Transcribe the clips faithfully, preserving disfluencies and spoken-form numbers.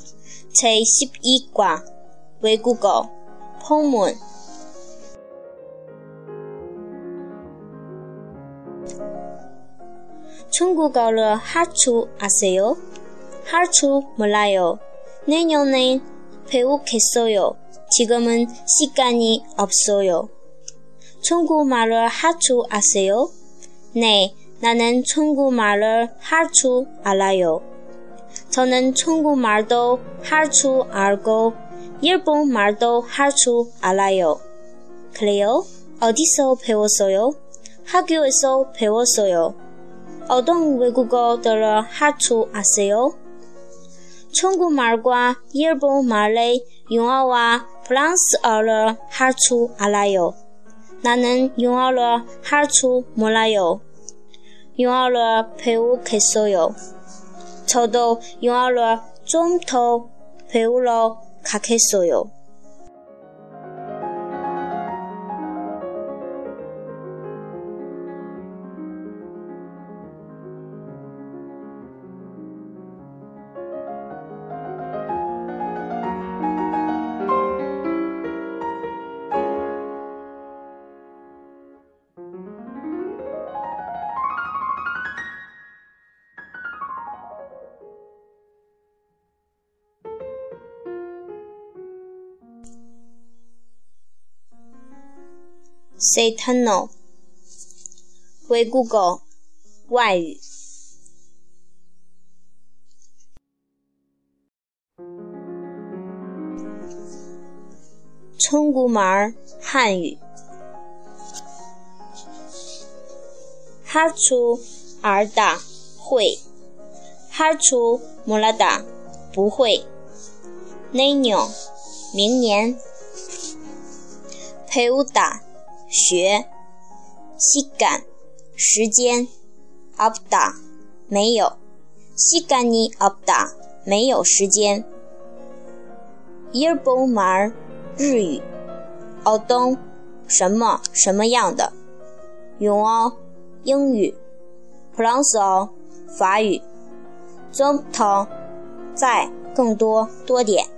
제십이 과 외국어 포문 중국어를 할 줄 아세요? 할 줄 몰라요. 내년에 배우겠어요. 지금은 시간이 없어요. 중국말을 할 줄 아세요? 네, 나는 중국말을 할 줄 알아요. 저는 중국말도 할 줄 알고 일본말도 할 줄 알아요. 그래요? 어디서 배웠어요? 학교에서 배웠어요. 어떤 외국어들을 할 줄 아세요? 중국말과 일본말의 영어와 프랑스어를 할 줄 알아요. 나는 영어를 할 줄 몰라요. 영어를 배우겠어요. 저도 영어를 좀 더 배우러 가겠어요. 세탄노 외국어外语 중국말汉语 할 줄 알다会 할 줄 몰라다不会 내년 明年 배우다学 시간 时间 없다 没有 시간이 없다 没有时间 일본말 日语 어떤 什么什么样的 영어 英语 프랑스어 法语 좀 더 再更多多点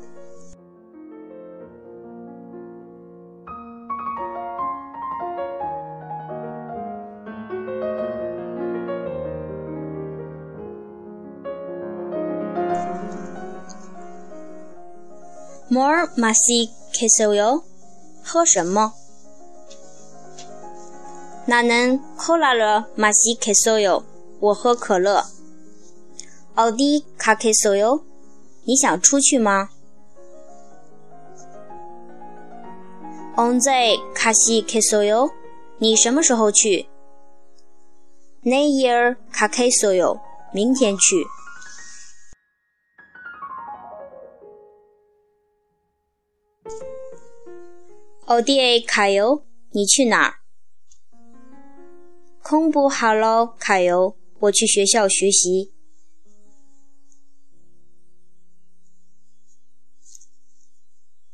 뭘 마시겠어요? 喝什么? 나는 콜라를 마시겠어요. 我喝可乐. 어디 가겠어요? 你想出去吗? 언제 가시겠어요? 你什么时候去? 내일 가겠어요. 明天去. 어디에 가요? 你去哪儿? 공부하러 가요. 我去学校学习.